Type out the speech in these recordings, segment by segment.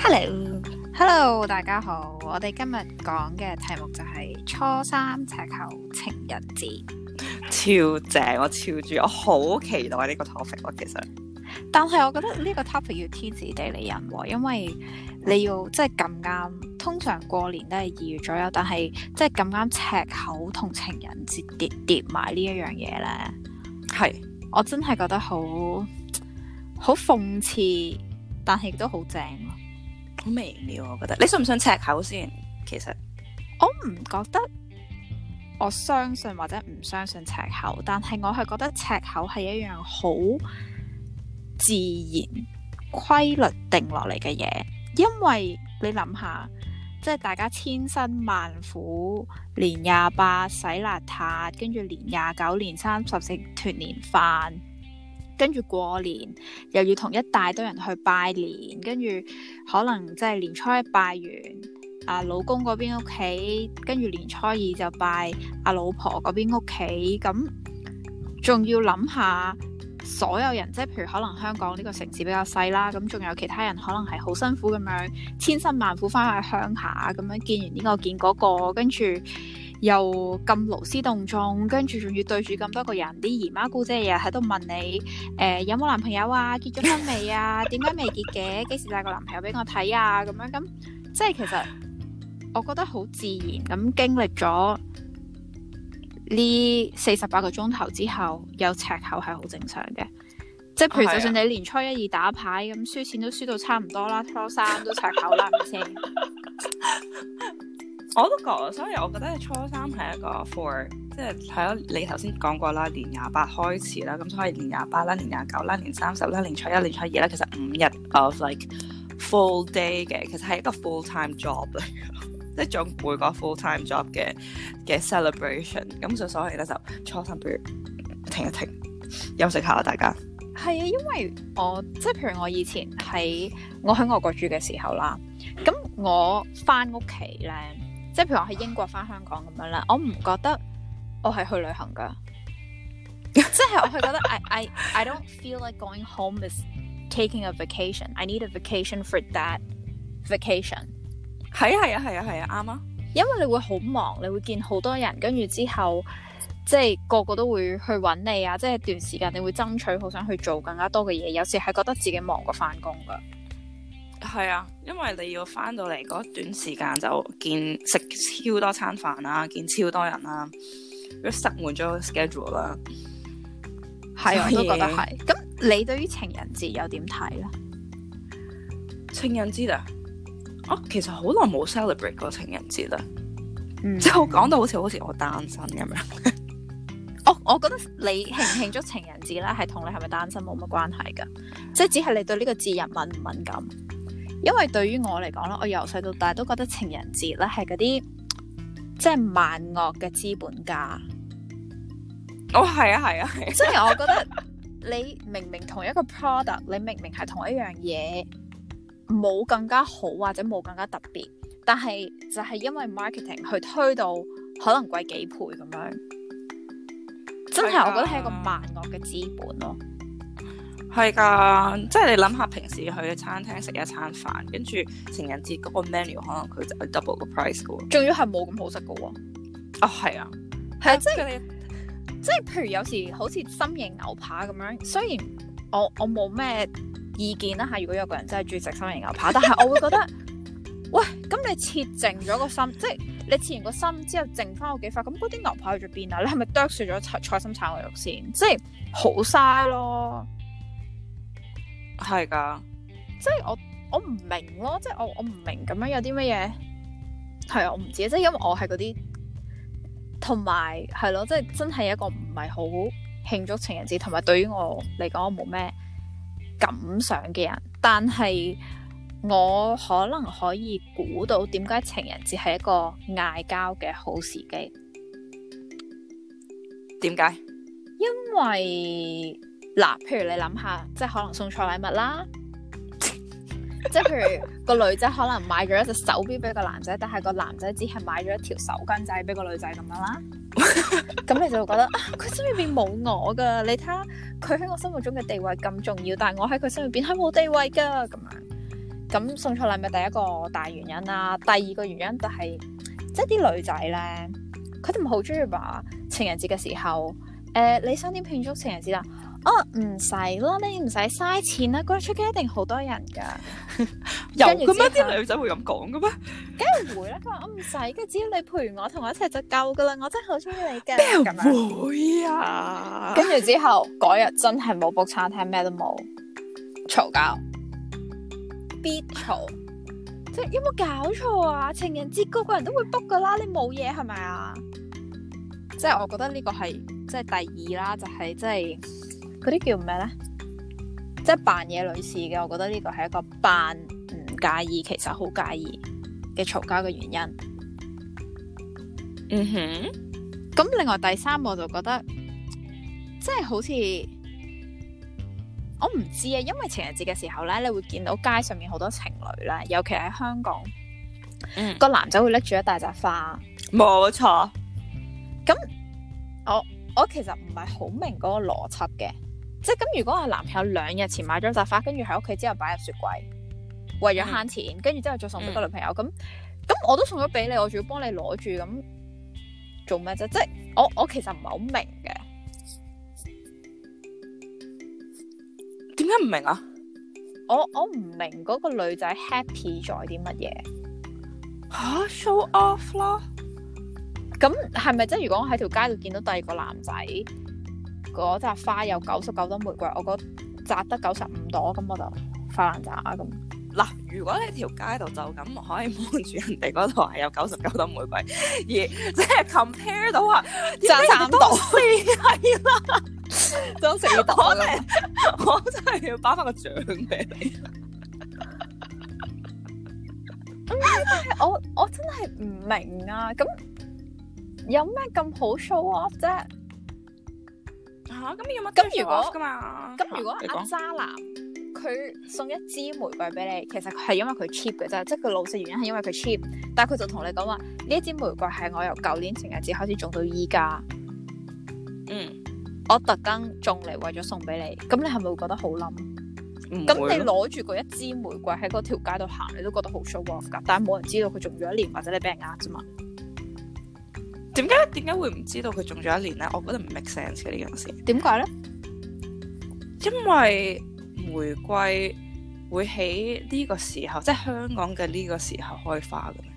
Hello，大家好。我哋今日講嘅題目就係初三赤口情人節， 超正，我超住，我好期待呢個 topic 喎。其實， 但係我覺得呢個 topic 要天時地利人和，因為你要即係咁啱，通常過年都係2月左右，但係即係咁啱赤口同情人節疊埋呢一樣嘢咧， 係我真係覺得好諷刺，但係亦都好正咯。 好微妙，我覺得。你信唔信赤口先？其實我唔覺得，我相信或者唔相信赤口，但係我係覺得赤口係一樣好自然規律定落嚟嘅嘢，因為你諗下，即係大家千辛萬苦，年28洗邋遢，跟住年29、年30食團年飯。跟住過年又要同一大堆人去拜年，跟住可能即係年初一拜完老公嗰邊屋企，跟住年初二就拜老婆嗰邊屋企，咁仲要諗下所有人，即係譬如可能香港呢個城市比較細啦，咁仲有其他人可能係好辛苦咁樣千辛萬苦翻去鄉下，咁樣見完呢個見嗰個，跟住又咁勞師動眾，跟住仲要對住咁多個人，啲姨媽姑姐日日喺度問你，有冇男朋友啊？結咗婚未啊？點解未結嘅？幾時帶個男朋友俾我睇啊？咁樣咁，即係其實我覺得好自然咁經歷咗呢48個鐘頭之後，有赤口係好正常嘅。即係譬如就算你年初一、2打牌咁，輸錢都輸到差唔多啦，初3都赤口啦，係咪先？ 我都覺，所以我覺得初三係一個 for， 即係咯，你頭先講過啦，年28開始啦，咁所以年28啦、年29啦、年30啦、年初一、年初二啦，其實5日 of like full day 嘅，其實係一個 full time job 嚟嘅，即係總每個 full time job 嘅 celebration， 咁所以咧就初三不如停一停，休息下啦，大家。 係啊，因為我即係譬如我以前我喺外國住嘅時候啦，咁我翻屋企咧。即係譬如我喺英國翻香港咁樣啦，我唔覺得我係去旅行噶，即係我係覺得 I don't feel like going home is taking a vacation. I need a vacation for that vacation. 係啊，啱啊。 因為你會好忙，你會見好多人，跟住之後即係個個都會去揾你啊！即係段時間你會爭取好想去做更加多嘅嘢，有時係覺得自己忙過翻工噶。 係啊，因為你要翻到嚟嗰段時間就食超多餐飯啦，見超多人啦，都塞滿咗個 schedule 啦。係啊， 我都覺得係。咁你對於情人節又點睇咧？ 情人節啊，我其實好耐冇 celebrate 過情人節啦。即係我講到好似我單身咁樣。 我覺得你慶唔慶祝情人節咧，係同你係咪單身冇乜關係噶，即係只係你對呢個節日敏唔敏感。因為對於我嚟講咧，我由細到大都覺得情人節咧係嗰啲即係萬惡嘅資本家。 係啊， 即係我覺得你明明同一個 product， 你明明係同一樣嘢，冇更加好或者冇更加特別，但係就係因為 marketing 去推到可能貴幾倍咁樣，真係我覺得係一個萬惡嘅資本咯。 係噶，即係你諗下，平時去餐廳食一餐飯，跟住情人節嗰個 menu 可能佢就係 double 個 price 噶喎， 仲要係冇咁好食噶喎。 係啊， 即係譬如有時好似心形牛扒咁樣，雖然我冇咩意見啦嚇，如果有個人真係中意食心形牛扒，但係我會覺得，喂，咁你切淨咗個心，即係你切完個心之後剩翻嗰幾塊，咁嗰啲牛扒去咗邊啊？你係咪剁碎咗菜心炒牛肉先？即係好嘥咯。 係噶， 即係我唔明咯，即係我唔明咁樣有啲乜嘢係啊，我唔知，即係因為我係嗰啲同埋係咯，即係真係一個唔係好慶祝情人節，同埋對於我嚟講我冇咩感想嘅人，但係我可能可以估到點解情人節係一個嗌交嘅好時機。 點解？ 因為嗱，譬如你諗下，即係可能送錯禮物啦，即係譬如個女仔可能買咗一隻手錶俾個男仔，但係個男仔只係買咗一條手巾仔俾個女仔咁樣啦。咁你就會覺得佢心入邊冇我噶，你睇下佢喺我心目中嘅地位咁重要，但係我喺佢心入邊係冇地位噶咁樣。 咁送錯禮物第一個大原因啦，第二個原因就係、即係啲女仔咧，佢哋咪好中意話情人節嘅時候，你想點慶祝情人節啊？哦，唔使啦，你唔使嘥錢啦，嗰日出街一定好多人㗎。 有嘅咩？啲女仔會咁講嘅咩？ 梗係會啦，佢話我唔使嘅，只要你陪我同我一齊就夠㗎啦，我真係好中意你㗎。咁樣會啊？ 跟住之後嗰日真係冇 book 餐廳，咩都冇，嘈交，必嘈。即係有冇搞錯啊？情人節個個人都會 book 㗎啦，你冇嘢係咪啊？即係我覺得呢個係即係第二啦，就係即係。嗰啲叫咩咧？即係扮嘢女士嘅，我覺得呢個係一個扮唔介意，其實好介意嘅嘈交嘅原因。 嗯哼。 咁另外第三，我就覺得即係好似我唔知啊，因為情人節嘅時候咧，你會見到街上面好多情侶咧，尤其喺香港，個男仔會拎住一大扎花。 冇錯。 咁我其實唔係好明嗰個邏輯嘅。即係咁，如果我男朋友2日前買咗扎花，跟住喺屋企之後擺入雪櫃，為咗慳錢，跟住之後再送俾個女朋友，咁我都送咗俾你，我仲要幫你攞住，咁做咩啫？即係我其實唔係好明嘅。 點解唔明啊？ 我唔明嗰個女仔 happy 在啲乜嘢？ 吓 show off 咯。 咁係咪即係如果我喺條街度見到第二個男仔？嗰扎花有99朵玫瑰，我覺得摘得95朵，咁我就發爛渣咁。 嗱，如果你條街度就咁可以望住人哋嗰度係有99朵玫瑰，而即係 compare 到話摘3朵， 係啦， 都4朵我真係要頒翻個獎俾你。 但係我真係唔明啊！咁有咩咁好 show off 啫？ 咁有乜咁如果噶嘛？ 咁如果阿渣男佢送一支玫瑰俾你，其實係因為佢 cheap 嘅啫，即係佢老實原因係因為佢 cheap，但係佢就同你講話呢一支玫瑰係我由舊年情人節開始種到依家，我特登種嚟為咗送俾你，咁你係咪會覺得好冧？咁你攞住嗰一支玫瑰喺嗰條街度行，你都覺得好 show off 噶，但係冇人知道佢種咗1年，或者你俾人呃啫嘛？ 點解會唔知道佢種咗1年咧？我覺得唔 make sense 嘅呢件事。點解咧？因為玫瑰會喺呢個時候，即係香港嘅呢個時候開花嘅咩？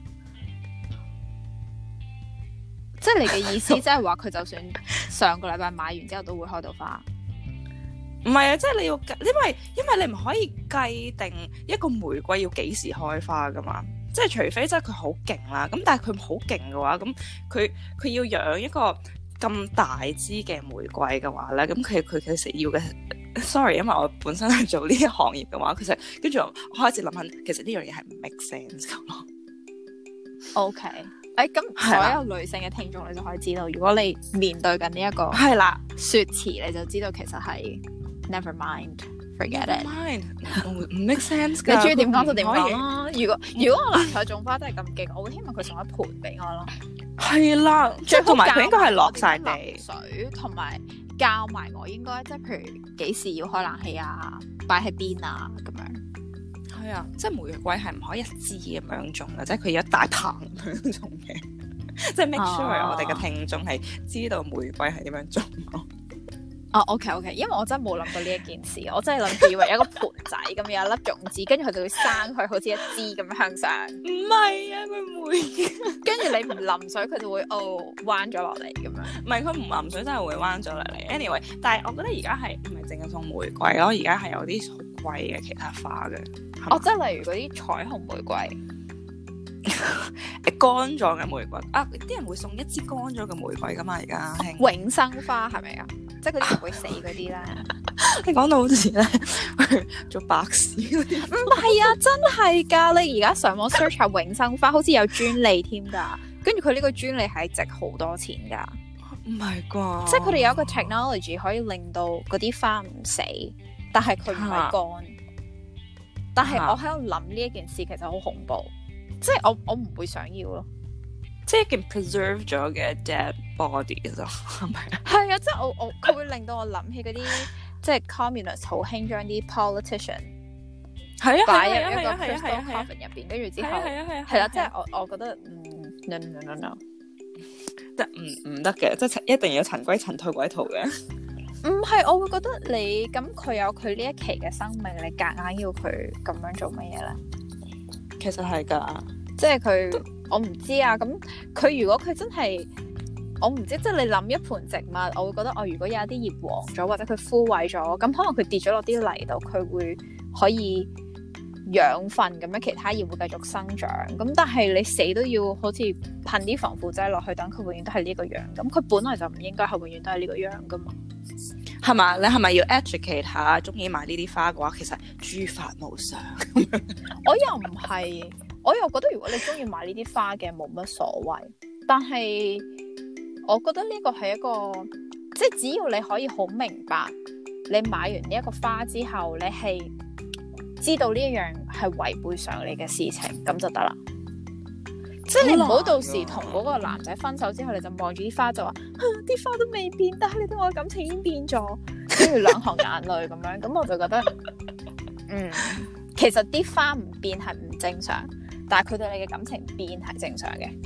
即係你嘅意思，即係話佢就算上個禮拜買完之後都會開到花？ 唔係啊，即係你要，因為你唔可以計定一個玫瑰要幾時開花噶嘛。即係除非即係佢好勁啦，咁但係佢好勁嘅話，咁佢要養一個咁大支嘅玫瑰嘅話咧，咁佢其實要嘅 ，sorry， 因為我本身係做呢一行業嘅話，其實跟住我開始諗下，其實呢樣嘢係唔 make sense 咁咯。 OK，咁所有女性嘅聽眾你就可以知道，如果你面對緊呢一個係啦說辭，你就知道其實係 never mind。Forget it， 唔 make sense 㗎。 你中意點講就點講咯。如果我男朋友種花真係咁勁，我會希望佢送一盆俾我咯。 係啦，即係同埋佢應該係落晒地水，同埋教埋我應該即係譬如幾時要開冷氣啊，擺喺邊啊咁樣。 係啊，即係玫瑰係唔可以一支咁樣種嘅，即係佢要一大棚咁樣種嘅。即係 make sure 我哋嘅聽眾係知道玫瑰係點樣種咯。 OK， 因為我真係冇諗過呢一件事，我真係諗住以為有一個盆仔咁有一粒種子，跟住佢就會生佢好似一支咁樣向上。 唔係啊，佢唔會。 跟住你唔淋水，佢就會彎咗落嚟咁樣。 唔係，佢唔淋水真係會彎咗落嚟。Anyway，但係我覺得而家係唔係淨係送玫瑰咯，而家係有啲好貴嘅其他花嘅。 即係例如嗰啲彩虹玫瑰。 乾咗嘅玫瑰啊！啲人會送一支乾咗嘅玫瑰噶嘛？而家永生花係咪啊？即係嗰啲唔會死嗰啲咧。 你講到好似咧做白事嗰啲， 唔係啊，真係噶！你而家上網 search 下永生花，好似有專利添噶。跟住佢呢個專利係值好多錢噶。 唔係啩？ 即係佢哋有一個 technology 可以令到嗰啲花唔死，但係佢唔係乾。但係我喺度諗呢一件事其實好恐怖。即係我唔會想要咯， 即係一件 preserve 咗嘅 dead body 啫，係咪啊？ 係啊，即係佢會令到我諗起嗰啲即係 communist 好興將啲 politician 係啊， 擺入一個係啊， crystal coffin 入邊，跟住之後係啦，即係我覺得no， 即係唔得嘅，即係一定要塵歸塵，土歸土嘅。 唔係，我會覺得你咁佢有佢呢一期嘅生命，你夾硬要佢咁樣做乜嘢咧？ 其實係㗎， 即係佢，我唔知啊。咁佢如果佢真係，我唔知，即係你諗一盆植物，我會覺得如果有一啲葉黃咗或者佢枯萎咗，咁可能佢跌咗落啲泥度，佢會可以養分咁樣，其他葉會繼續生長。咁但係你死都要好似噴啲防腐劑落去，等佢永遠都係呢個樣。咁佢本來就唔應該係永遠都係呢個樣噶嘛。 係嘛？你係咪要 educate 下中意買呢啲花嘅話，其實諸法無常。 我又唔係，我又覺得如果你中意買呢啲花嘅冇乜所謂，但係我覺得呢個係一個，即係只要你可以好明白，你買完呢一個花之後，你係知道呢一樣係違背常理嘅事情，咁就得啦。即係你唔好到時同嗰個男仔分手之後，你就望住啲花就話，啲花都未變，但係你對我嘅感情已經變咗，跟住兩行眼淚咁樣，咁我就覺得，其實啲花唔變係唔正常，但係佢對你嘅感情變係正常嘅。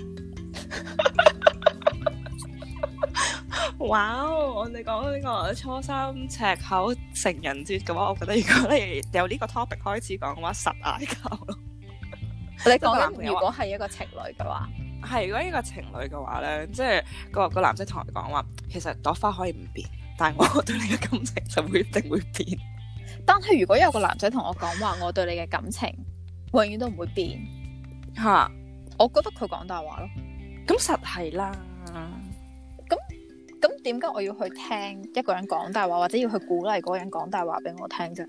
哇！我哋講呢個初三赤口情人節嘅話，我覺得如果你由呢個 topic 開始講嘅話，實嗌交咯。 你講緊如果係一個情侶嘅話， 係如果呢個情侶嘅話咧，即係個男仔同我講話，其實朵花可以唔變，但係我對你嘅感情就會一定會變。 但係如果有個男仔同我講話，我對你嘅感情永遠都唔會變， 嚇， 我覺得佢講大話咯。 咁實係啦。 咁點解我要去聽一個人講大話，或者要去鼓勵嗰個人講大話俾我聽啫？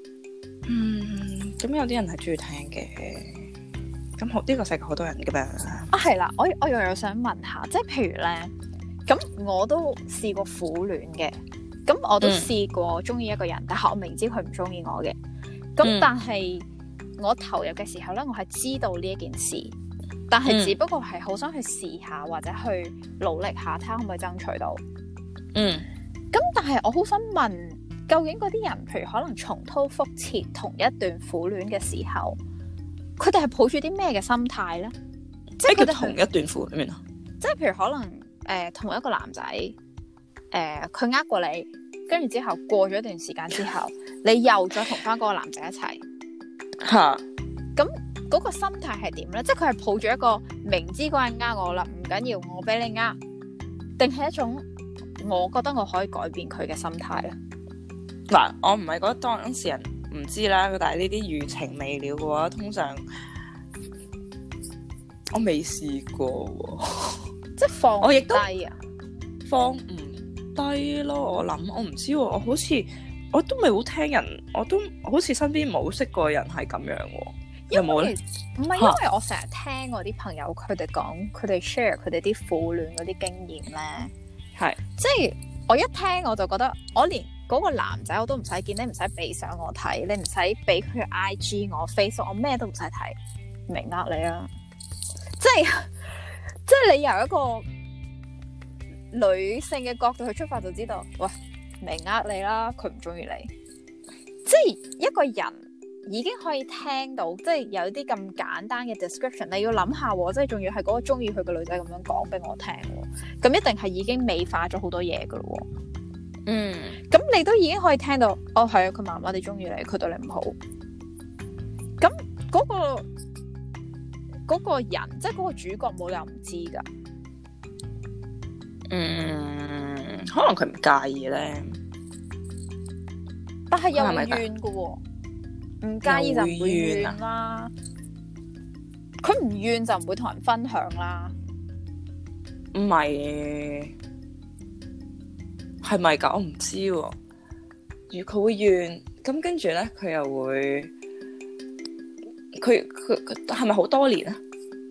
咁有啲人係中意聽嘅。咁呢個世界好多人噶嘛。 係啦，我又想問下，即係譬如咧，咁我都試過苦戀嘅，咁我都試過中意一個人，但係我明知佢唔中意我嘅，咁但係我投入嘅時候咧，我係知道呢一件事，但係只不過係好想去試下或者去努力下，睇下可唔可以爭取到。咁但係我好想問，究竟嗰啲人，譬如可能重蹈覆轍同一段苦戀嘅時候，佢哋係抱住啲咩嘅心態咧？即係佢哋同一段苦戀啊？即係譬如可能同一個男仔，佢呃過你，跟住之後過咗一段時間之後，你又再同翻嗰個男仔一齊嚇。咁嗰個心態係點咧？即係佢係抱住一個明知嗰人呃我啦，唔緊要，我俾你呃，定係一種我覺得我可以改變佢嘅心態咧？ 嗱，我唔係覺得當事人唔知啦，但係呢啲餘情未了嘅話，通常我未試過喎，即係放唔低啊，放唔低咯。我諗我唔知喎，我好似我都未好聽人，我都好似身邊冇識過人係咁樣喎。有冇咧？唔係因為我成日聽我啲朋友佢哋講，佢哋 share 佢哋啲苦戀嗰啲經驗咧，係即係我一聽我就覺得，我連嗰個男仔我都唔使見，你唔使俾相我睇，你唔使俾佢 IG 我 Facebook，我咩都唔使睇，明呃你啊！即係你由一個女性嘅角度去出發就知道，喂，明呃你啦，佢唔中意你，即係一個人。已經可以聽到，即係有啲咁簡單嘅 description， 你要諗下，即係仲要係嗰個中意佢嘅女仔咁樣講俾我聽，咁一定係已經美化咗好多嘢噶咯。咁你都已經可以聽到，哦係啊，佢麻麻地中意你，佢對你唔好。咁嗰個人，即係嗰個主角冇理由唔知噶。可能佢唔介意咧，但係又唔怨噶喎。唔介意就唔會怨啦，佢唔怨就唔會同人分享啦。唔係，係咪㗎？我唔知喎。如佢會怨，咁跟住咧，佢又會，佢係咪好多年啊？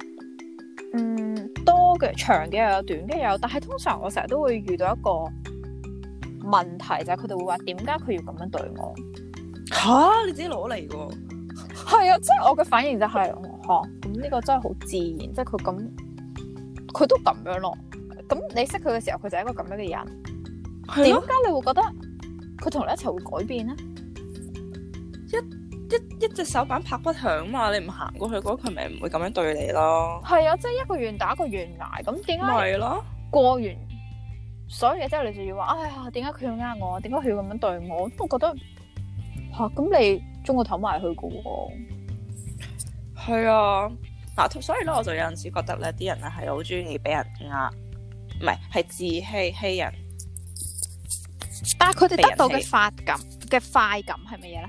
多嘅，長嘅又有，短嘅又有。但係通常我成日都會遇到一個問題，就係佢哋會話點解佢要咁樣對我？吓，你自己攞嚟嘅？係啊，即係我嘅反應就係，咁呢個真係好自然，即係佢咁，佢都咁樣咯。咁你識佢嘅時候，佢就係一個咁樣嘅人。點解你會覺得佢同你一齊會改變咧？一一隻手板拍不響嘛，你唔行過去嗰佢咪唔會咁樣對你咯。 係啊，即係一個願打一個願挨，咁點解咪咯， 過完所有嘢之後，你就要話，哎呀，點解佢要呃我？點解佢要咁樣對我？我覺得吓，咁你中個頭埋去噶喎。 係啊，嗱，所以咧我就有陣時覺得咧，啲人咧係好中意俾人呃，唔係自欺人。 但係佢哋得到嘅快感係乜嘢咧？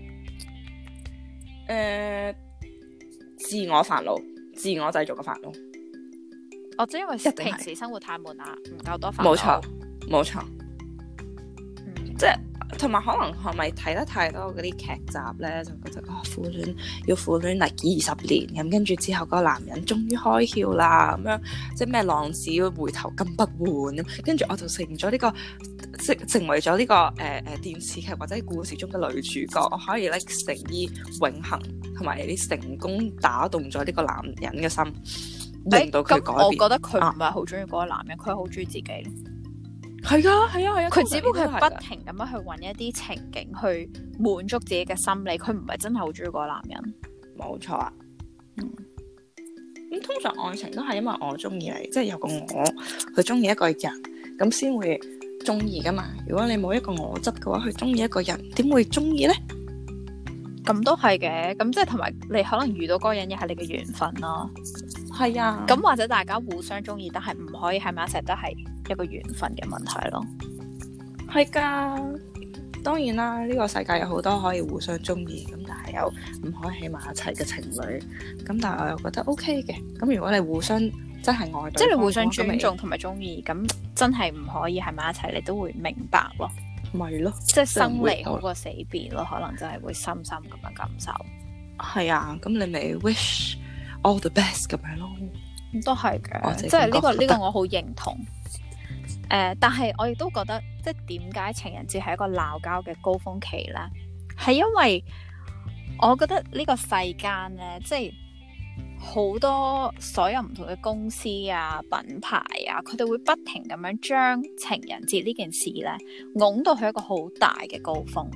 自我煩惱，自我製造嘅煩惱。 哦，即係因為平時生活太悶啦，唔夠多煩惱。 冇錯。即係同埋可能係咪睇得太多嗰啲劇集咧，就覺得苦戀要苦戀嚟20年咁，跟住之後嗰個男人終於開竅啦，咁樣即係咩浪子回頭金不換咁，跟住我就成為咗呢個電視劇或者故事中嘅女主角，我可以咧成於永恆，同埋你成功打動咗呢個男人嘅心，令到佢改變。 我覺得佢唔係好中意嗰個男人，佢係好中意自己。 係啊， 佢只不過係不停咁樣去揾一啲情景去滿足自己嘅心理，佢唔係真係好中意嗰個男人。 冇錯啊。咁通常愛情都係因為我中意你，即係有個我去中意一個人，咁先會中意噶嘛。如果你冇一個我質嘅話，去中意一個人，點會中意呢？ 咁都係嘅，咁即係同埋你可能遇到嗰個人，亦係你嘅緣分咯。 係啊， 咁或者大家互相中意，但係唔可以喺埋一齊，都係一個緣分嘅問題咯。 係噶，當然啦，呢個世界有好多可以互相中意，咁但係又唔可以喺埋一齊嘅情侶。咁但係我又覺得 OK 嘅。咁如果你互相真係愛對方， 即係你互相尊重同埋中意，咁真係唔可以喺埋一齊，你都會明白咯。 咪咯， 即係生離好過死別咯，可能真係會深深咁樣感受。 係啊，咁你咪 wish all the best 咁樣咯。 都係嘅，即係呢個我好認同。但係我亦都覺得，即係點解情人節係一個鬧交嘅高峰期咧？係因為我覺得呢個世間咧，即係好多所有唔同嘅公司啊、品牌啊，佢哋會不停咁樣將情人節呢件事咧，拱到去一個好大嘅高峰。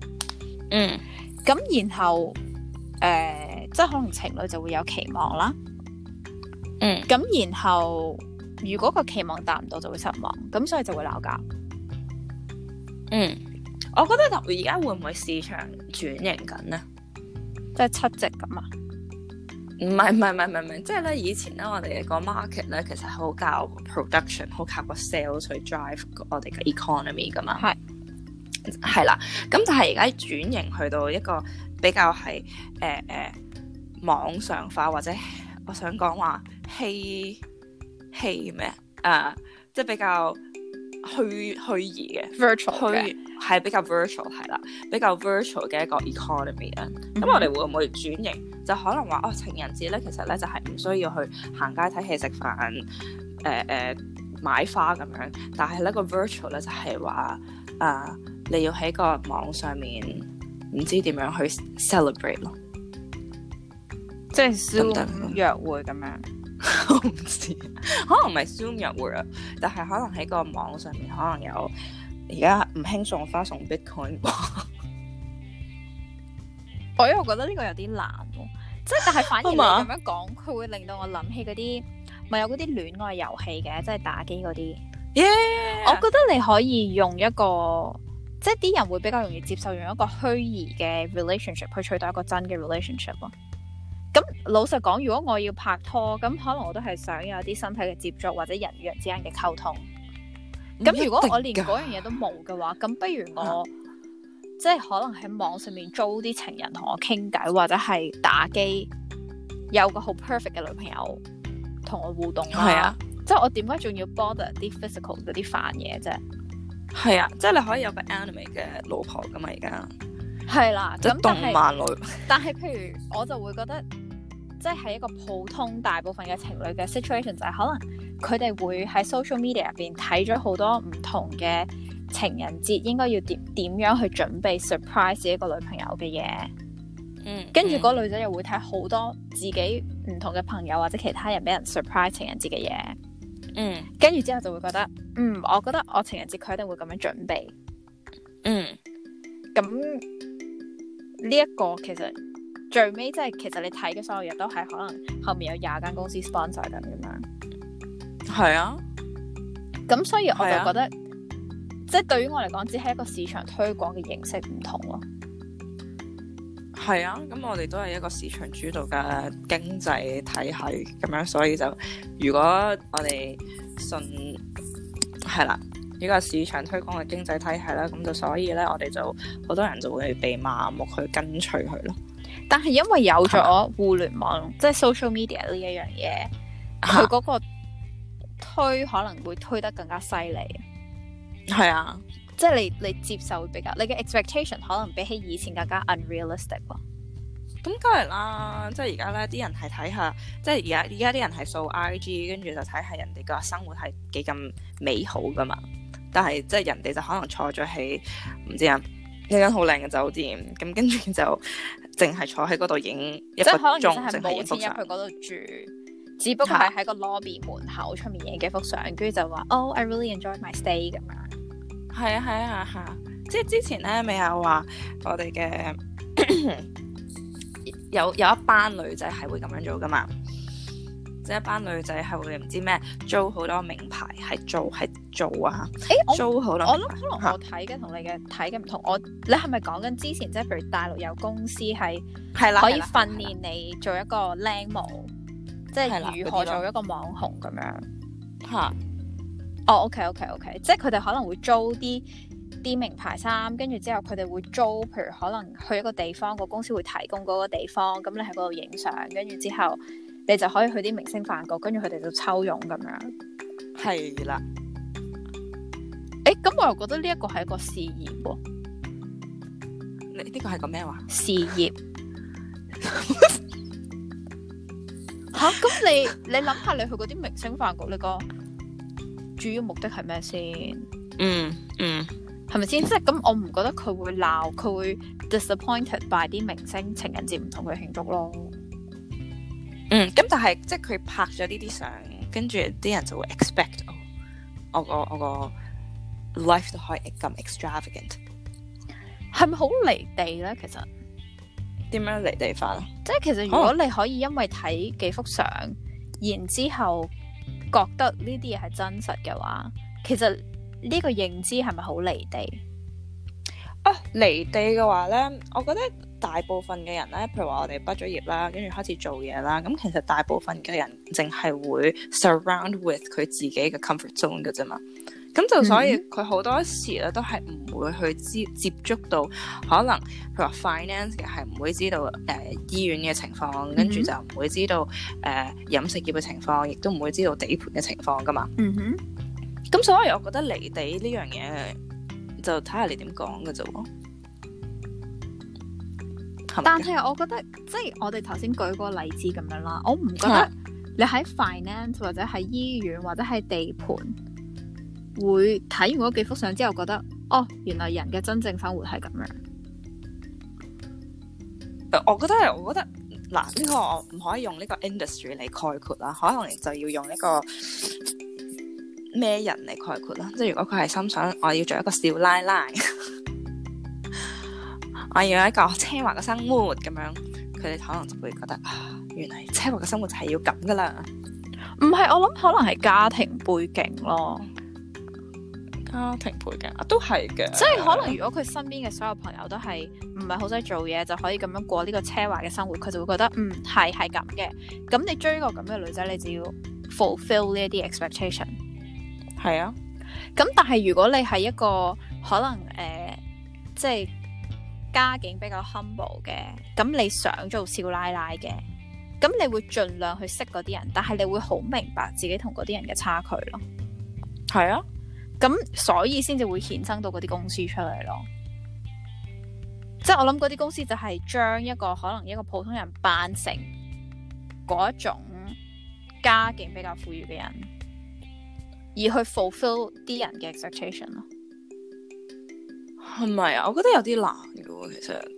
咁然後即係可能情侶就會有期望啦。咁然後如果個期望達唔到，就會失望，咁所以就會鬧交。 我覺得而家會唔會市場轉型緊呢？ 即係七夕咁啊？ 唔係，即係咧以前咧我哋個 market 咧其實好靠 production， 好靠個 sales 去 drive 我哋嘅 economy 噶嘛。係啦，咁但係而家轉型去到一個比較係網上化，或者我想講話戲咩即係比較虛擬嘅 virtual 嘅， 係比較 virtual 係啦，比較 virtual 嘅一個 economy 啊。咁我哋會唔會轉型？就可能話情人節咧，其實咧就係唔需要去行街睇戲食飯買花咁樣，但係咧個 virtual 咧就係話你要喺個網上面唔知點樣去 celebrate 咯， 即係 Zoom 約會咁樣。 我唔知，可能唔係 Zoom 約會啊，但係可能喺個網上面可能有而家唔興送花送 Bitcoin 啩。 我因為覺得呢個有啲難喎，即係但係反而你咁樣講，佢會令到我諗起嗰啲咪有嗰啲戀愛遊戲嘅，即係打機嗰啲。我覺得你可以用一個，即係啲人會比較容易接受用一個虛擬嘅 relationship 去取代一個真嘅 relationship 咯。咁老實講，如果我要拍拖，咁可能我都係想有啲身體嘅接觸或者人與人之間嘅溝通。咁如果我連嗰樣嘢都冇嘅話，咁不如我即係可能喺網上面租啲情人同我傾偈，或者係打機，有個好 perfect 嘅女朋友同我互動啦。係啊，即係我點解仲要 bother 啲 physical 嗰啲煩嘢啫？ 係啊，即係你可以有個 anime 嘅老婆噶嘛，而家係啦。 咁動漫類， 但係譬如我就會覺得，即係一個普通大部分嘅情侶嘅 situation 就係可能佢哋會喺 social media 入邊睇咗好多唔同嘅情人節應該要點樣去準備 surprise 自己個女朋友嘅嘢。跟住嗰女仔又會睇好多自己唔同嘅朋友或者其他人俾人 surprise 情人節嘅嘢。跟住之後就會覺得，我覺得我情人節佢一定會咁樣準備。咁呢一個其實最尾即係其實你睇嘅所有嘢都係可能後面有20間公司 sponsor 緊咁樣。 係啊， 咁所以我就覺得，即係對於我嚟講，只係一個市場推廣嘅形式唔同咯。 係啊，咁我哋都係一個市場主導嘅經濟體系咁樣，所以就如果我哋信係啦，呢個市場推廣嘅經濟體系啦，咁就所以咧，我哋就好多人就會被麻木去跟隨佢咯。 但係因為有咗互聯網，即係 social media 呢一樣嘢，佢嗰個推可能會推得更加犀利。 係啊。 即係你接受會比較，你嘅 expectation 可能比起以前更加 unrealistic 咯。 咁梗係啦，即係而家咧啲人係睇下，即係而家啲人係掃 IG，跟住就睇下人哋個生活係幾咁美好噶嘛。但係即係人哋就可能坐咗喺唔知啊一間好靚嘅酒店，咁跟住就淨係坐喺嗰度影一個鐘， 即係可能其實係冇錢入影幅相去嗰度住，只不過係喺個 lobby 門口出面影幾幅相，跟住就話Oh I really enjoy my stay 咁樣。 係啊，即係之前咧咪有話我哋嘅有一班女仔係會咁樣做噶嘛，即係一班女仔係會唔知咩租好多名牌係做啊，租好多。我諗可能我睇嘅同你嘅睇嘅唔同，你係咪講緊之前即係譬如大陸有公司係可以訓練你做一個靚模，即係如何做一個網紅咁樣嚇？ OK， 即係佢哋可能會租啲名牌衫，跟住之後佢哋會租，譬如可能去一個地方，個公司會提供嗰個地方，咁你喺嗰度影相，跟住之後你就可以去啲明星飯局，跟住佢哋就抽傭咁樣。 係啦。 咁我又覺得呢一個係一個事業喎。 你呢個係個咩話？ 事業。嚇！咁你諗下，你去嗰啲明星飯局，你個主要目的係咩先？係咪先？即係咁，我唔覺得佢會鬧，佢會 disappointed by 啲明星情人節唔同佢慶祝咯。 咁但係即係佢拍咗呢啲相，跟住啲人就會 expect 我個 life 都可以咁 extravagant， 係咪好離地咧？其實點樣離地法啊？ 即係其實如果你可以因為睇幾幅相，然之後覺得呢啲嘢係真實嘅話，其實呢個認知係咪好離地？ 離地嘅話咧，我覺得大部分嘅人咧，譬如話我哋畢咗業啦，跟住開始做嘢啦，咁其實大部分嘅人淨係會 surround with 佢自己嘅 comfort zone 嘅啫嘛。咁就所以佢好多時咧都係唔會去接觸到可能譬如話 finance 嘅係唔會知道醫院嘅情況，跟住就唔會知道飲食業嘅情況，亦都唔會知道地盤嘅情況噶嘛。咁所以我覺得離地呢樣嘢就睇下你點講嘅啫喎。 但係我覺得即係我哋頭先舉嗰個例子咁樣啦，我唔覺得你喺 finance 或者喺醫院或者喺地盤會睇完嗰幾幅相之後覺得原來人嘅真正生活係咁樣。 我覺得嗱，呢個我唔可以用呢個 industry 嚟概括啦，可能就要用一個咩人嚟概括啦。即係如果佢係心想我要做一個少奶奶，我要有一個奢華嘅生活咁樣，佢哋可能就會覺得原來奢華嘅生活就係要咁噶啦。 唔係，我諗可能係家庭背景咯。 家庭背景都係嘅， 即係可能如果佢身邊嘅所有朋友都係唔係好使做嘢，就可以咁樣過呢個奢華嘅生活，佢就會覺得係咁嘅。咁你追個咁嘅女仔，你就要 fulfill 呢一啲 expectation。 係啊。 咁但係如果你係一個可能即係家境比較 humble 嘅，咁你想做少奶奶嘅，咁你會盡量去識嗰啲人，但係你會好明白自己同嗰啲人嘅差距咯。 係啊。 咁所以先至會衍生到嗰啲公司出嚟咯，即係我諗嗰啲公司就係將一個可能一個普通人扮成嗰一種家境比較富裕嘅人，而去 fulfill 啲人嘅 expectation 咯。 係咪啊？我覺得有啲難嘅喎，其實。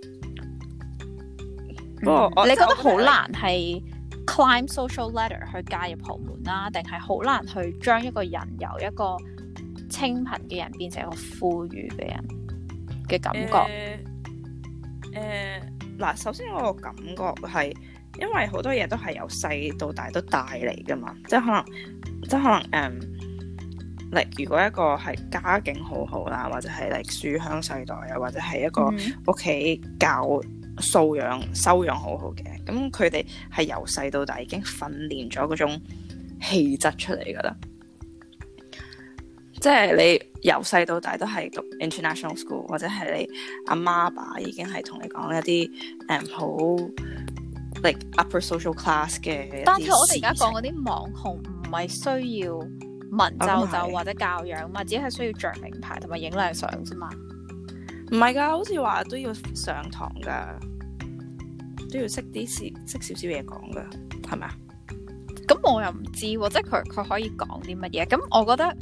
不過你覺得好難係 climb social ladder 去嫁入豪門啦，定係好難去將一個人由一個清貧嘅人變成一個富裕嘅人嘅感覺？ 嗱，首先我個感覺係，因為好多嘢都係由細到大都帶嚟噶嘛，即係可能如果一個係家境好好啦，或者係書香世代啊，或者係一個屋企修養好好嘅，咁佢哋係由細到大已經訓練咗嗰種氣質出嚟噶啦。即係你由細到大都係讀 international school， 或者係你阿媽阿爸已經係同你講一啲好upper social class 嘅。 但係我哋而家講嗰啲網紅唔係需要文縐或者教養嘛，只係需要着名牌同埋影靚相啫嘛。 唔係㗎，好似話都要上堂㗎，都要識少少嘢講㗎，係咪啊？ 咁我又唔知喎，即係佢可以講啲乜嘢？咁我覺得。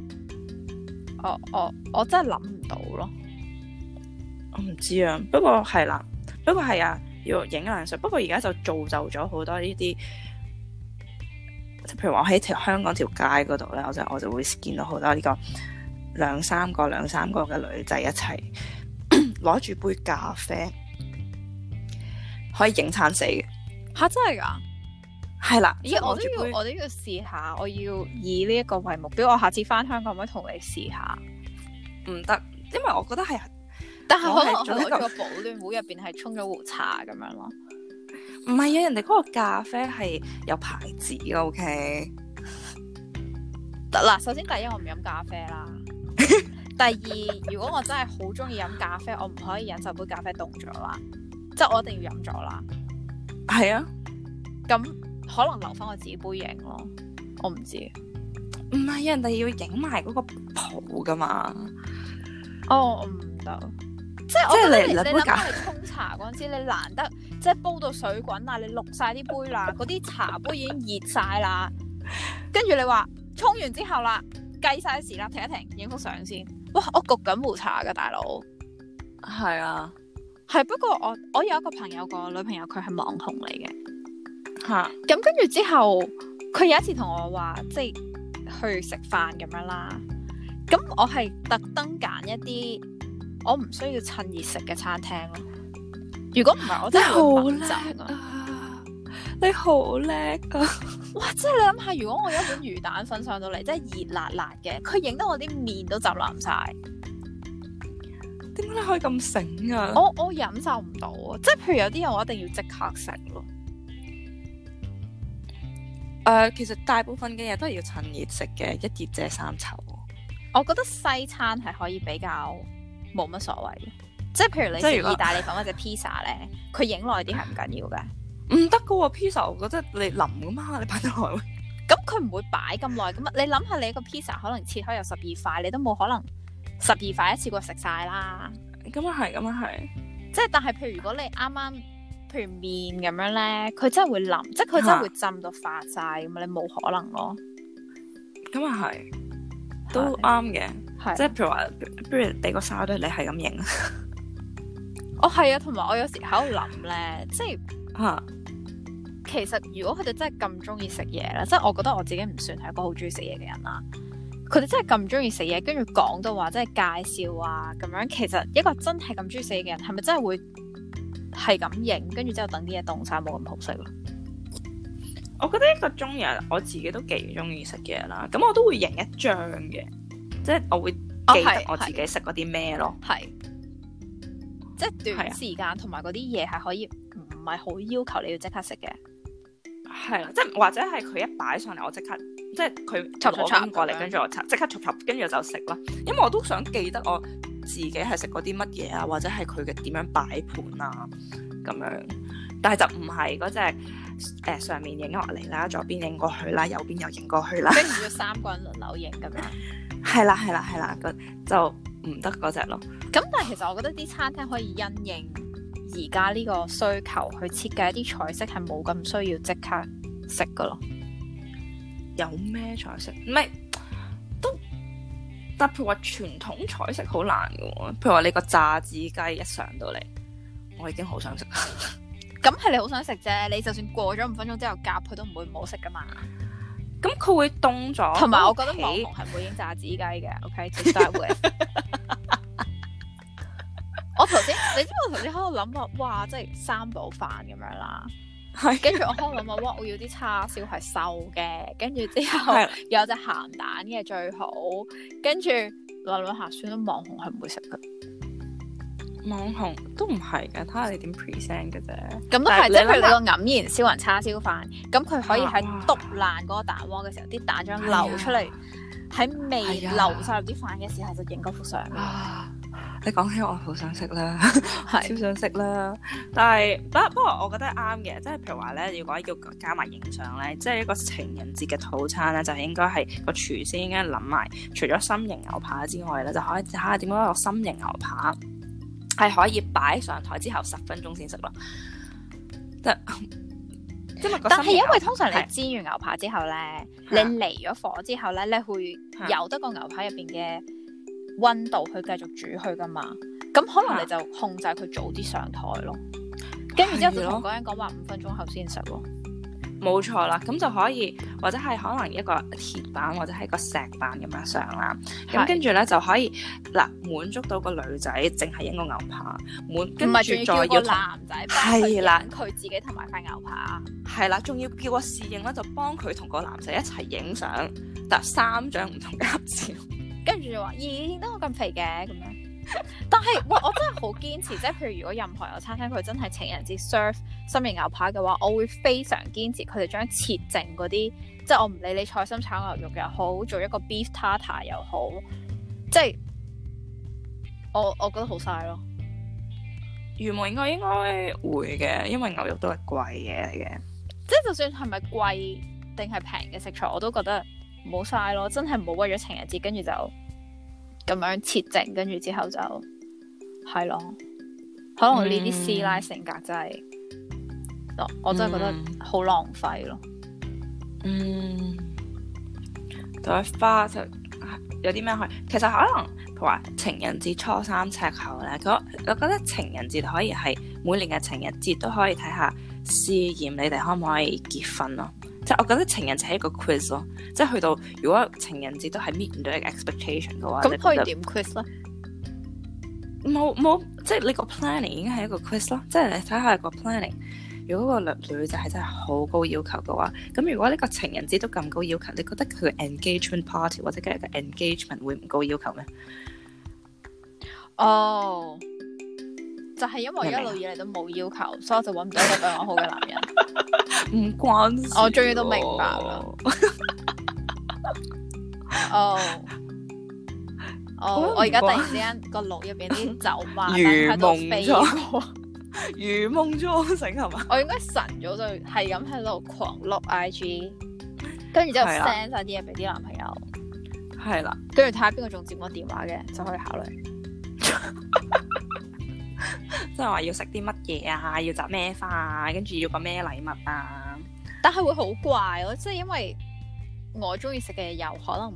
我真係諗唔到咯， 我唔知啊。不過係啦，不過係啊，要影靚相。不過而家就造就咗好多呢啲，譬如話我喺香港條街嗰度咧，我就會見到好多呢個兩三個嘅女仔一齊攞住杯咖啡，可以影餐死嘅。 吓，真係㗎？係啦，咦！我都要試下，我要以呢一個為目標。我下次翻香港可唔可以同你試下？ 唔得，因為我覺得係， 但係可能我喺個保暖壺入邊係沖咗壺茶咁樣咯。 唔係啊，人哋嗰個咖啡係有牌子嘅，OK。 嗱，首先第一我唔飲咖啡啦。第二，如果我真係好中意飲咖啡，我唔可以忍受杯咖啡凍咗啦，即係我一定要飲咗啦。 係啊， 咁。可能留翻我自己杯影咯，我唔知。 唔係，人哋要影埋嗰個泡噶嘛。 哦，唔得。即係我覺得你諗下，你沖茶嗰陣時，你難得即係煲到水滾啦，你渌晒啲杯啦，嗰啲茶杯已經熱晒啦。跟住你話沖完之後啦，計晒時啦，停一停，影幅相先。哇！我焗緊壺茶噶大佬。 係啊， 係不過我有一個朋友個女朋友，佢係網紅嚟嘅。咁跟住之後，佢有一次同我話，即係去食飯咁樣啦。咁我係特登揀一啲我唔需要趁熱食嘅餐廳咯。如果唔係，我真係會猛走啊！ 你好叻啊！ 哇！即係你諗下，如果我有一碗魚蛋粉上到嚟，真係熱辣辣嘅，佢影到我啲面都浸腍晒。 點解你可以咁醒啊？ 我忍受唔到啊！即係譬如有啲人我一定要即刻食咯。 其實大部分嘅嘢都係要趁熱食嘅，一熱遮三醜。 我覺得西餐係可以比較冇乜所謂嘅，即係譬如你食意大利粉或者 pizza 咧，佢影耐啲係唔緊要嘅。唔得噶喎 pizza 我覺得你腍噶嘛，你擺得耐。 咁佢唔會擺咁耐噶嘛？你諗下，你一個 pizza 可能切開有12塊，你都冇可能12塊一次過食晒啦。 咁啊係， 即係但係譬如如果你啱啱。譬如麵咁樣咧，佢真係會腍，即係佢真係會浸到發晒咁啊！你冇可能咯。咁啊係， 都啱嘅。 係即係譬如話，不如俾個沙堆你係咁影。 係啊，同埋我有時喺度諗咧，即係其實如果佢哋真係咁中意食嘢咧，即係我覺得我自己唔算係一個好中意食嘢嘅人啦。佢哋真係咁中意食嘢，跟住講到話即係介紹啊咁樣，其實一個真係咁中意食嘢嘅人，係咪真係會？係咁影，跟住之後等啲嘢凍晒，冇咁好食咯。 我覺得一個中意，我自己都幾中意食嘢啦。咁我都會影一張嘅，即係我會記得我自己食嗰啲咩咯。係，即係短時間同埋嗰啲嘢係可以唔係好要求你要即刻食嘅。係啦，即係或者係佢一擺上嚟，我即刻即係佢攞緊過嚟，跟住我即刻插，跟住就食啦。因為我都想記得我自己係食過啲乜嘢啊，或者係佢嘅點樣擺盤啊咁樣，但係就唔係嗰隻上面影落嚟啦，左邊影過去啦，右邊又影過去啦，跟住3個人輪流影咁樣。係啦，就唔得嗰隻咯。咁但係其實我覺得啲餐廳可以因應而家呢個需求去設計一啲菜式係冇咁需要即刻食噶咯。有咩菜式？唔係都。但譬如話傳統菜式好難嘅喎，譬如話你個炸子雞一上到嚟，我已經好想食。咁係你好想食啫，你就算過咗5分鐘之後夾佢都唔會唔好食噶嘛。咁佢會凍咗，同埋我覺得網紅係唔會影炸子雞嘅。OK，to start with，我你知我頭先喺度諗話，哇，即係三寶飯咁樣啦。 係跟住我喺度諗話，哇！我要啲叉燒係瘦嘅，跟住之後有隻鹹蛋嘅最好。跟住諗諗下，算啦，網紅係唔會食嘅。 網紅都唔係嘅，睇下你點 present 嘅啫。 咁都係，即係譬如你個黯然銷魂叉燒飯，咁佢可以喺篤爛嗰個蛋黃嘅時候，啲蛋漿流出嚟，喺未流晒入啲飯嘅時候就影嗰幅相。 你講起我好想食啦，超想食啦。但係不過我覺得啱嘅，即係譬如話咧，如果要加埋影相咧，即係一個情人節嘅套餐咧，就應該係個廚師應該諗埋，除咗心形牛扒之外咧，就可以睇下點樣個心形牛扒係可以擺上台之後10分鐘先食咯。但係因為通常你煎完牛扒之後咧，你離咗火之後咧，你會由得個牛扒入邊嘅溫度去繼續煮佢噶嘛，咁可能你就控制佢早啲上台咯，跟住之後就同嗰人講話5分鐘後先食咯。冇錯啦，咁就可以或者係可能一個鐵板或者係一個石板咁樣上啦，咁跟住咧就可以滿足到個女仔淨係影個牛扒，跟住再要男仔係啦佢自己同埋塊牛扒係啦，仲要叫個侍應咧就幫佢同個男仔一齊影相，但3張唔同嘅合照。 跟住就話，咦，點解我咁肥嘅咁樣？但係，喂，我真係好堅持，即係譬如如果任何有餐廳佢真係情人節 serve 心形牛扒嘅話，我會非常堅持佢哋將切剩嗰啲，即係我唔理你菜心炒牛肉又好，做一個 beef tartar 又好，即係我覺得好嘥咯。 原本應該會嘅，因為牛肉都係貴嘢嚟嘅， 即係就算係咪貴定係平嘅食材，我都覺得唔好嘥咯，真係唔好為咗情人節跟住就咁樣切剩，跟住之後就係咯，可能呢啲師奶性格真係，我真係覺得好浪費咯。 對花就有啲咩可以？其實可能譬如話情人節初3赤口咧，我覺得情人節可以係每年嘅情人節都可以睇下試驗你哋可唔可以結婚咯。即係我覺得情人節係一個 quiz 咯，即係去到如果情人節都係 meet 唔到你嘅 expectation 嘅話， 咁可以點 quiz 咧？ 冇，即係你個 planning 已經係一個 quiz 咯。即係你睇下個 planning，如果個女仔係真係好高要求嘅話，咁如果呢個情人節都咁高要求，你覺得佢嘅 engagement party 或者佢嘅 engagement 會唔高要求咩？ 哦，就係因為一路以嚟都冇要求，所以我就揾唔到一個對我好嘅男人。 唔關事， 我終於都明白啦。我而家突然之間個腦入邊啲酒馬燈喺度飛過， 如夢初醒係嘛？ 我應該晨早就係咁喺度狂碌 IG， 跟住之後 send 晒啲嘢俾啲男朋友， 係啦， 跟住睇下邊個仲接我電話嘅，就可以考慮。 即係話要食啲乜嘢啊，要摘咩花啊，跟住要個咩禮物啊， 但係會好怪咯，即係因為我中意食嘅嘢有可能唔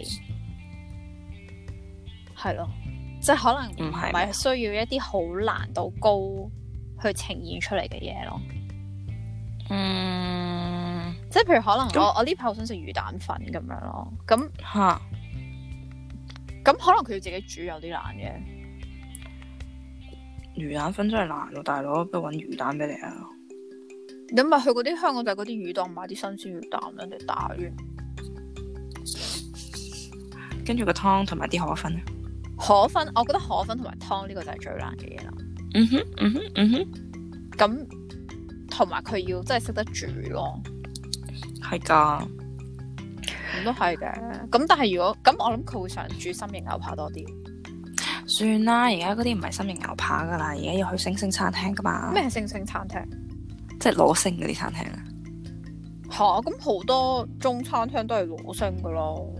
係咯，即係可能唔係需要一啲好難度高去呈現出嚟嘅嘢咯。即係譬如可能我呢排好想食魚蛋粉咁樣咯，咁可能佢要自己煮有啲難嘅。 魚蛋粉真係難咯，大佬，不如搵魚蛋俾你啊！ 你咪去嗰啲香港就係嗰啲魚檔買啲新鮮魚蛋，人哋打完， 跟住個湯同埋啲河粉。 河粉，我覺得河粉同埋湯呢個就係最難嘅嘢啦。咁同埋佢要真係識得煮咯。 係㗎， 咁都係嘅。咁但係如果咁，我諗佢會想煮心形牛扒多啲。 算啦，而家嗰啲唔係心形牛扒噶啦，而家要去星星餐廳噶嘛。 咩係星星餐廳？ 即係攞星嗰啲餐廳啊。 咁好多中餐廳都係攞星噶咯。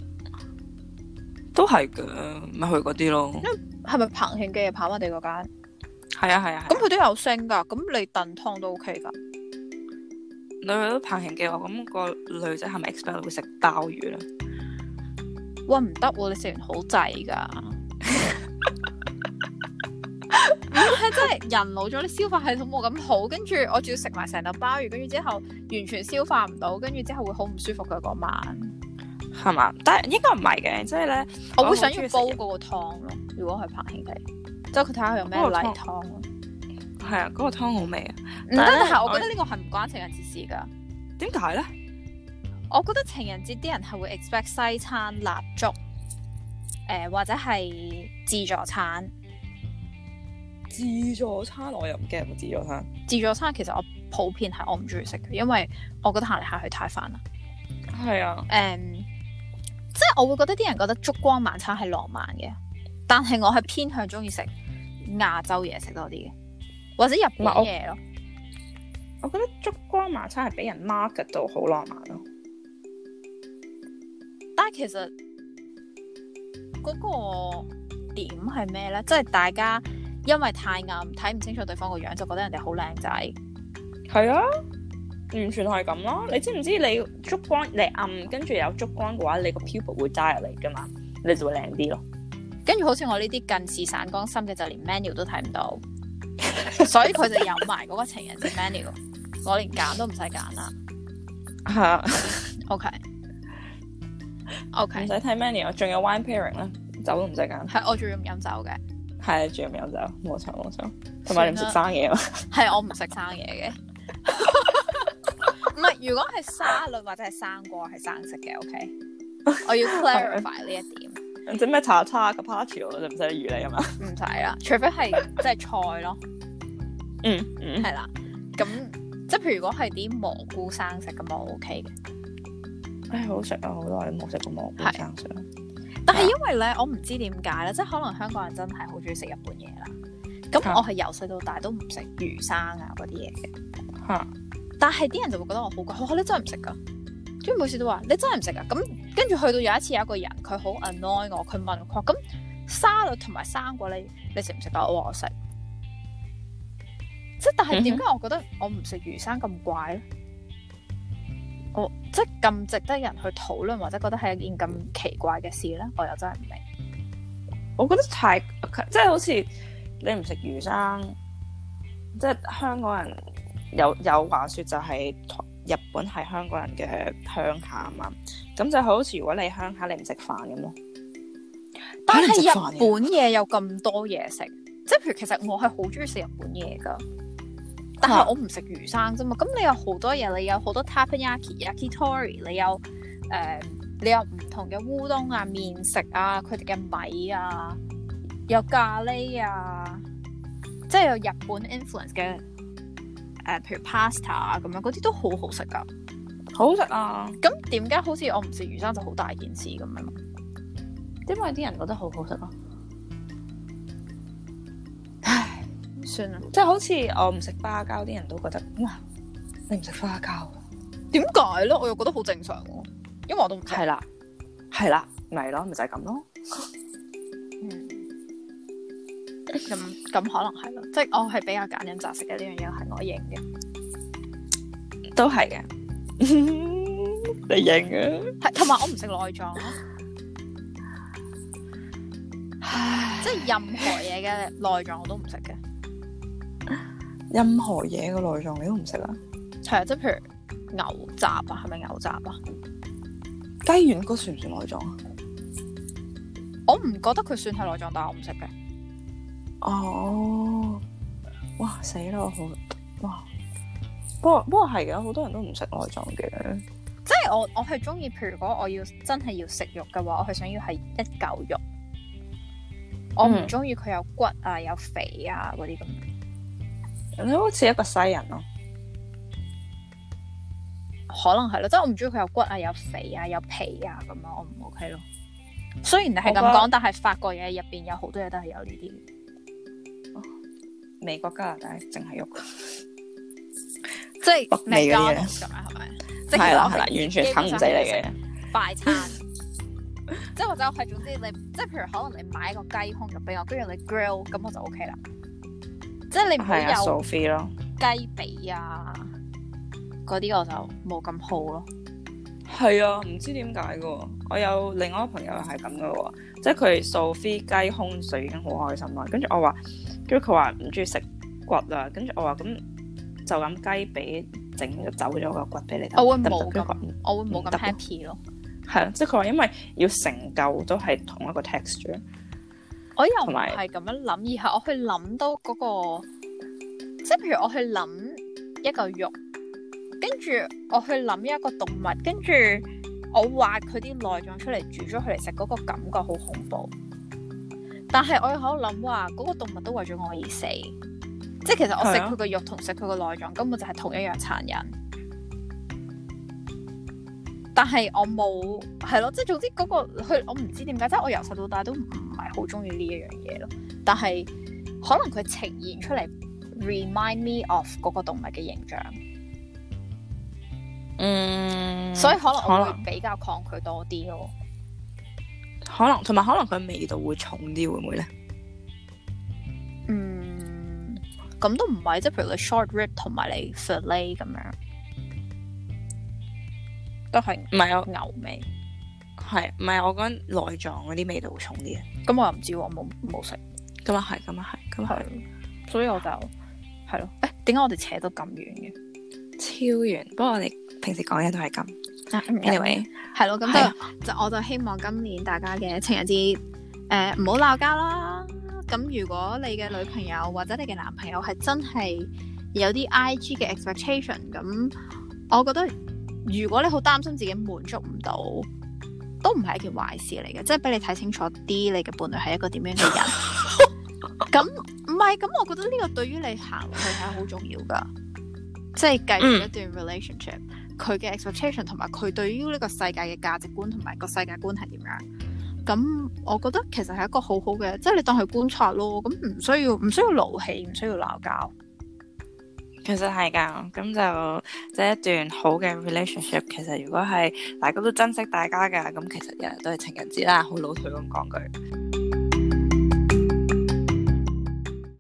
都係嘅，咪去嗰啲咯。 係咪彭慶記啊？跑馬地嗰間？ 係啊。 咁佢都有星噶，咁你燉湯都 OK 噶。 你去到彭慶記，我咁個女仔係咪 expect 會食鮑魚咧？ 哇，唔得喎！你食完好滯噶。係真係人老咗，你消化系統冇咁好，跟住我仲要食埋成嚿鮑魚，跟住之後完全消化唔到，跟住之後會好唔舒服嘅嗰晚， 係嘛？但係應該唔係嘅，即係咧， 我會想要煲嗰個湯咯。如果係彭慶記， 即係佢睇下佢有咩例湯。 係啊，嗰個湯好味啊！ 唔得，但係我覺得呢個係唔關情人節事㗎。 點解咧？ 我覺得情人節啲人係會 expect 西餐、蠟燭，或者係自助餐。 自助餐我又唔驚自助餐。 自助餐其實我普遍係我唔中意食嘅，因為我覺得行嚟行去太煩啦。 係啊。 即係我會覺得啲人覺得燭光晚餐係浪漫嘅，但係我係偏向中意食亞洲嘢食多啲嘅，或者日本嘢咯。 我覺得燭光晚餐係俾人 market 到好浪漫咯。 但係其實嗰個點係咩咧？即係大家因為太暗睇唔清楚對方個樣，就覺得人哋好靚仔。 係啊，完全係咁咯。你知唔知你燭光你暗跟住有燭光嘅話，你個 pupil 會 dilate 噶嘛，你就會靚啲咯。 跟住好似我呢啲近視散光深嘅，就連 menu 都睇唔到，所以佢就有埋嗰個情人節 menu， 我連揀都唔使揀啦。 係啊。 OK， 唔使睇 menu， 仲有 wine pairing 啦，酒都唔使揀。 係我仲要唔飲酒嘅。 係仲要唔飲酒，冇錯冇錯。同埋你唔食生嘢嘛？ 係我唔食生嘢嘅。唔係，如果係沙律或者係生果係生食嘅 ，OK。我要 clarify 呢一點。 整咩茶叉 carpaccio 就唔使魚嚟啊嘛？唔使啦，除非係即係菜咯。係啦。咁即係譬如如果係啲蘑菇生食咁，我 OK 嘅。 唉，好食啊！好耐冇食過蘑菇生食。 但係因為咧，我唔知點解咧，即係可能香港人真係好中意食日本嘢啦。咁我係由細到大都唔食魚生啊嗰啲嘢嘅。但係啲人就會覺得我好貴，你真係唔食噶？跟住每次都話你真係唔食啊？咁跟住去到有一次有一個人佢好 annoy 我，佢問我咁沙律同埋生果你食唔食啊？我話我食。即係但係點解我覺得我唔食魚生咁怪咧？即係咁值得人去討論或者覺得係一件咁奇怪嘅事咧，我又真係唔明。 我覺得太即係好似你唔食魚生，即係香港人有話說就係日本係香港人嘅鄉下啊嘛，咁就好似如果你鄉下你唔食飯咁咯。 但係日本嘢有咁多嘢食，即係譬如其實我係好中意食日本嘢噶。但係我唔食魚生啫嘛，咁你有好多嘢，你有好多 takoyaki、yakitori， 你有唔同嘅烏冬啊、麵食啊、佢哋嘅米啊，有咖喱啊，即係有日本 influence 嘅譬如 pasta 啊咁樣，嗰啲都好好食噶， 好好食啊！ 咁點解好似我唔食魚生就好大件事咁樣？ 因為啲人覺得好好食咯。 算啦， 即係好似我唔食花膠，啲人都覺得哇，你唔食花膠， 點解咧？我又覺得好正常喎，因為我都唔食。 係啦，咪咯，咪就係咁咯。 咁可能係咯，即係我係比較揀飲擇食嘅，呢樣嘢係我認嘅， 都係嘅。你認嘅？ 係同埋我唔食內臟咯，即係任何嘢嘅內臟我都唔食嘅。 任何嘢嘅內臟你都唔食啊？ 係啊，即係譬如牛雜啊，係咪牛雜啊？ 雞軟骨算唔算內臟啊？ 我唔覺得佢算係內臟，但係我唔食嘅。 哦，哇死啦！好哇，不過係嘅，好多人都唔食內臟嘅。 即係我係中意，譬如如果我要真係要食肉嘅話，我係想要係一嚿肉。我唔中意佢有骨啊、有肥啊嗰啲咁。 你好似一個西人咯， 可能係咯，即係我唔中意佢有骨啊、有肥啊、有皮啊咁樣，我唔 OK 咯。雖然你係咁講，但係法國嘢入邊有好多嘢都係有呢啲。 美國加拿大淨係肉， 即係北美嗰啲嘢咁樣係咪？ 係啦，完全啃唔死你嘅快餐。即係或者我係總之你，即係譬如可能你買一個雞胸肉俾我，跟住你 grill 咁我就 OK 啦。即係你唔好有雞髀啊嗰啲，我就冇咁好咯。 係啊，唔知點解嘅。我有另外一個朋友係咁嘅喎，即係佢掃飛雞胸就已經好開心啦。跟住我話，跟住佢話唔中意食骨啊。跟住我話咁就咁雞髀整就走咗個骨俾你睇。 我會冇咁 happy 咯。 係啊，即係佢話因為要成嚿都係同一個 texture。 我又唔同埋係咁樣諗，而係我去諗到嗰個，即係譬如我去諗一嚿肉，跟住我去諗一個動物，跟住我挖佢啲內臟出嚟煮咗佢嚟食，嗰個感覺好恐怖。但係我又喺度諗話，嗰個動物都為咗我而死，即係其實我食佢個肉同食佢個內臟根本就係同一樣殘忍。但係我冇係咯，即係總之嗰個佢，我唔知點解，即係我由細到大都唔係好中意呢一樣嘢咯。但係可能佢呈現出嚟 remind me of 嗰個動物嘅形象，所以可能我會比較抗拒多啲咯。 可能同埋可能佢味道會重啲，會唔會咧？ 咁都唔係，即係譬如你 short rib 同埋你 fillet 咁樣，都係唔係我牛味， 係唔係我講內臟嗰啲味道會重啲啊？ 咁我又唔知喎，我冇食。 咁啊係，咁啊係，咁係， 所以我就係咯。點解我哋扯到咁遠嘅？ 超遠。不過我哋平時講嘢都係咁。Anyway， 係咯，咁就我就希望今年大家嘅情人節唔好鬧交啦。咁如果你嘅女朋友或者你嘅男朋友係真係有啲 IG 嘅 expectation，咁我覺得如果你好擔心自己滿足唔到，都唔係一件壞事嚟嘅，即係俾你睇清楚啲你嘅伴侶係一個點樣嘅人。咁唔係，咁我覺得呢個對於你行落去係好重要噶，即係繼續一段 relationship，佢嘅 expectation 同埋佢對於呢個世界嘅價值觀同埋個世界觀係點樣。咁我覺得其實係一個好好嘅，即係你當佢觀察咯。咁唔需要勞氣，唔需要鬧交。 其實係㗎，咁就即係一段好嘅 relationship。其實如果係大家都珍惜大家嘅，咁其實日日都係情人節啦，好老土咁講句。